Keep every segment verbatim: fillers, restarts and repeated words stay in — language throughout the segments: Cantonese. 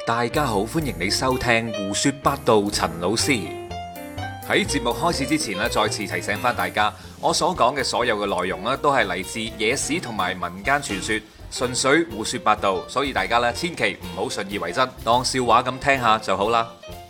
大家好，歡迎你收聽胡說八道。陳老師喺節目開始之前咧，再次提醒翻大家，我所講嘅所有嘅內容咧，都係嚟自野史同埋民間傳說，純粹胡說八道，所以大家咧千祈唔好信以為真，當笑話咁聽下就好啦。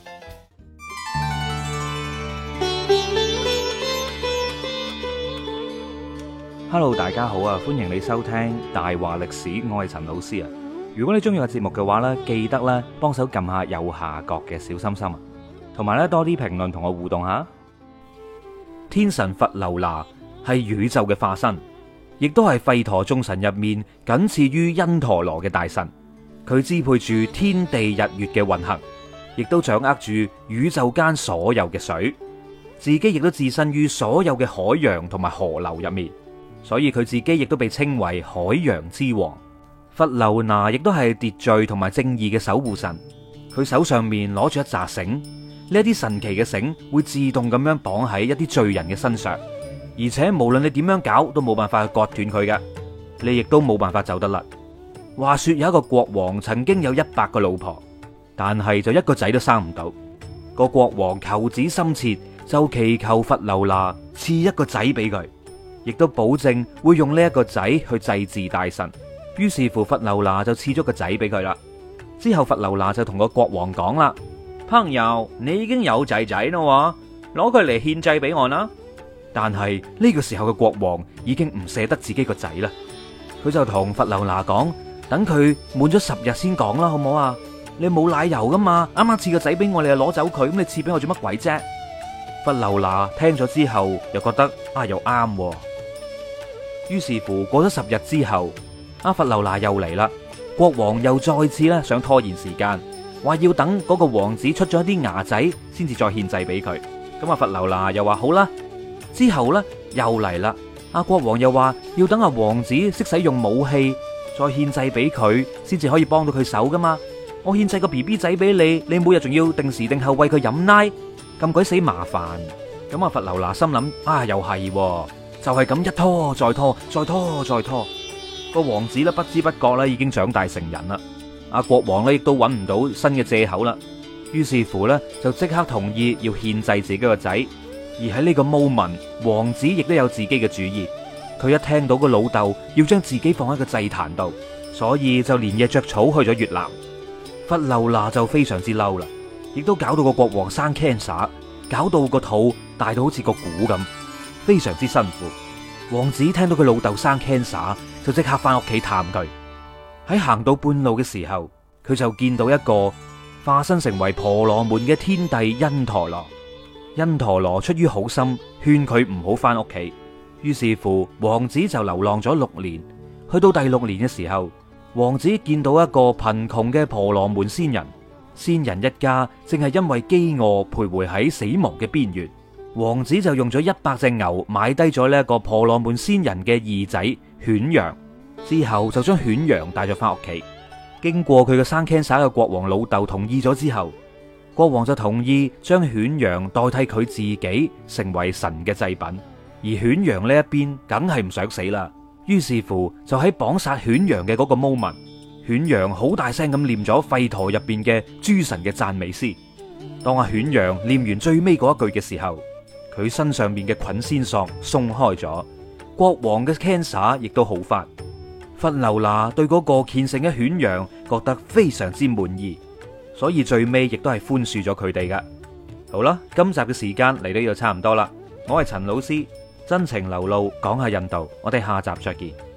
Hello， 大家好啊！歡迎你收聽大話歷史，我係陳老師啊。如果你中意個節目嘅話呢，記得咧幫手撳下右下角嘅小心心啊，同埋咧多啲評論同我互動下。天神伐樓那係宇宙嘅化身，亦都係吠陀眾神入面僅次於因陀羅嘅大神。佢支配住天地日月嘅運行，亦都掌握住宇宙間所有嘅水，自己亦都置身於所有嘅海洋同埋河流入面。所以佢自己亦都被稱為海洋之王。伐樓那亦都係秩序同埋正義嘅守護神。佢手上面攞住一紮繩，呢一啲神奇嘅繩會自動咁樣綁喺一啲罪人嘅身上，而且無論你點樣搞都冇辦法去割斷佢嘅，你亦都冇辦法走得甩。話說有一個國王曾經有一百個老婆，但係就一個仔都生唔到。個國王求子心切，就祈求伐樓那賜一個仔俾佢，亦都保證會用呢一個仔去祭祀大神。於是乎伐樓那就賜咗個仔俾佢啦。之後伐樓那就同個國王講啦：朋友，你已經有仔仔啦，攞佢嚟獻祭俾我啦。但係呢個時候嘅國王已經唔捨得自己個仔啦，佢就同伐樓那講：等佢滿咗十日先講啦，好唔好啊？你冇奶油噶嘛，啱啱賜個仔俾我，你又攞走佢，咁你賜俾我做乜鬼啫？伐樓那聽咗之後又覺得啊又啱，於是乎過咗十日之後，阿伐樓那又嚟啦。國王又再次咧想拖延時間，話要等嗰個王子出咗一啲牙仔先至再獻祭俾佢。咁阿伐樓那又話好啦。之後咧又嚟啦，阿國王又話要等阿王子識使用武器再獻祭俾佢，先至可以幫到佢手噶嘛。我獻祭個 B B 仔俾你，你每日仲要定時定候餵佢飲奶，咁鬼死麻煩。咁阿伐樓那心諗啊，又係就係咁一拖再拖，再拖再拖，個王子咧不知不覺咧已經長大成人啦。阿國王咧亦都揾唔到新嘅借口啦，於是乎咧就即刻同意要獻祭自己個仔。而喺呢個 moment， 王子亦都有自己嘅主意。佢一聽到個老豆要將自己放喺個祭壇度，所以就連夜着草去咗越南。伐樓那就非常之嬲啦，亦都搞到個國王生 cancer， 搞到個肚大到好似個鼓咁，非常之辛苦。王子聽到佢老豆生 cancer， 就即刻翻屋企探佢。喺行到半路嘅時候，佢就見到一個化身成為婆羅門嘅天帝因陀羅。因陀羅出於好心，勸佢唔好翻屋企。於是乎，王子就流浪咗六年。去到第六年嘅時候，王子見到一個貧窮嘅婆羅門仙人，仙人一家正係因為飢餓徘徊喺死亡嘅邊緣。王子就用咗一百隻牛買低咗呢一個婆羅門仙人嘅二仔犬羊，之後就將犬羊帶咗翻屋企。經過佢嘅生 cancer 嘅國王老豆同意咗之後，國王就同意將犬羊代替佢自己成為神嘅祭品。而犬羊呢一邊梗係唔想死啦，於是乎就喺綁殺犬羊嘅嗰個 moment， 犬羊好大聲咁念咗吠陀入邊嘅諸神嘅讚美詩。當阿犬羊念完最尾嗰一句嘅時候，佢身上面嘅捆仙索鬆開咗，國王嘅 cancer 亦都好返。伐樓那對嗰個虔誠嘅犬羊覺得非常之滿意，所以最尾亦都係寬恕咗佢哋噶。好啦，今集嘅時間嚟到呢度差唔多啦，我係陳老師，真情流露講下印度，我哋下集再見。